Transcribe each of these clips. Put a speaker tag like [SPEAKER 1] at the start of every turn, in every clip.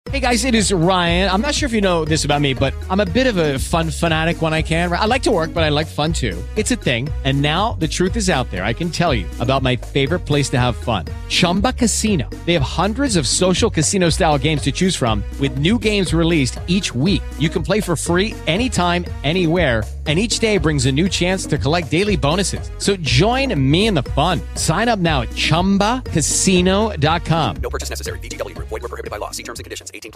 [SPEAKER 1] Hey guys, it is Ryan. I'm not sure if you know this about me, but I'm a bit of a fun fanatic when I can. I like to work, but I like fun too. It's a thing. And now the truth is out there. I can tell you about my favorite place to have fun. Chumba Casino. They have hundreds of social casino style games to choose from with new games released each week. You can play for free anytime, anywhere. And each day brings a new chance to collect daily bonuses. So join me in the fun. Sign up now at ChumbaCasino.com.
[SPEAKER 2] No purchase necessary. VGW Group. Void where prohibited by law. See terms and conditions. 18+.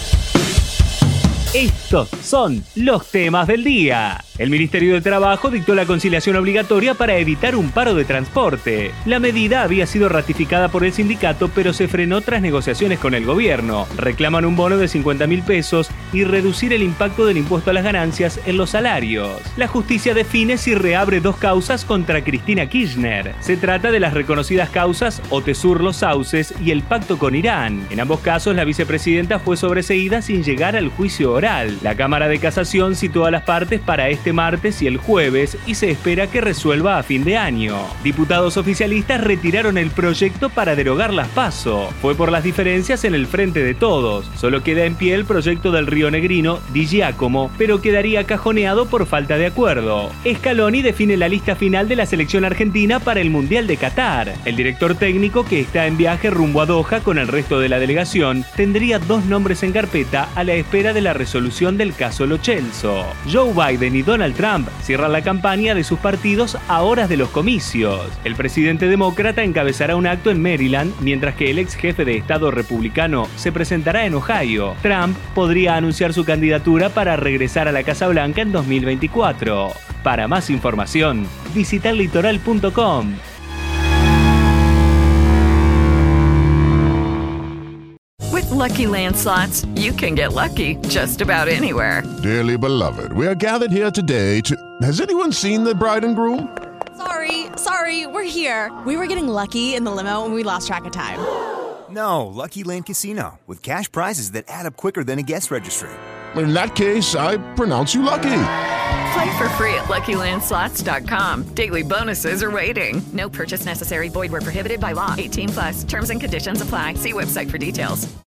[SPEAKER 3] Estos son los temas del día. El Ministerio de Trabajo dictó la conciliación obligatoria para evitar un paro de transporte. La medida había sido ratificada por el sindicato, pero se frenó tras negociaciones con el gobierno. Reclaman un bono de 50.000 pesos y reducir el impacto del impuesto a las ganancias en los salarios. La justicia define si reabre dos causas contra Cristina Kirchner. Se trata de las reconocidas causas Otesur Los Sauces y el pacto con Irán. En ambos casos, la vicepresidenta fue sobreseída sin llegar al juicio oral. La Cámara de Casación citó a las partes para este martes y el jueves y se espera que resuelva a fin de año. Diputados oficialistas retiraron el proyecto para derogar las PASO. Fue por las diferencias en el frente de todos. Solo queda en pie el proyecto del rionegrino Di Giacomo, pero quedaría cajoneado por falta de acuerdo. Scaloni define la lista final de la selección argentina para el Mundial de Qatar. El director técnico, que está en viaje rumbo a Doha con el resto de la delegación, tendría dos nombres en carpeta a la espera de la resolución del caso Lo Celso. Joe Biden y Donald Trump cierran la campaña de sus partidos a horas de los comicios. El presidente demócrata encabezará un acto en Maryland, mientras que el ex jefe de Estado republicano se presentará en Ohio. Trump podría anunciar su candidatura para regresar a la Casa Blanca en 2024. Para más información, visita litoral.com.
[SPEAKER 4] With Lucky Land Slots, you can get lucky just about anywhere.
[SPEAKER 5] Dearly beloved, we are gathered here today to... Has anyone seen the bride and groom?
[SPEAKER 6] Sorry, we're here. We were getting lucky in the limo and we lost track of time.
[SPEAKER 7] No, Lucky Land Casino, with cash prizes that add up quicker than a guest registry.
[SPEAKER 5] In that case, I pronounce you lucky.
[SPEAKER 4] Play for free at LuckyLandSlots.com. Daily bonuses are waiting. No purchase necessary. Void where prohibited by law. 18+. Terms and conditions apply. See website for details.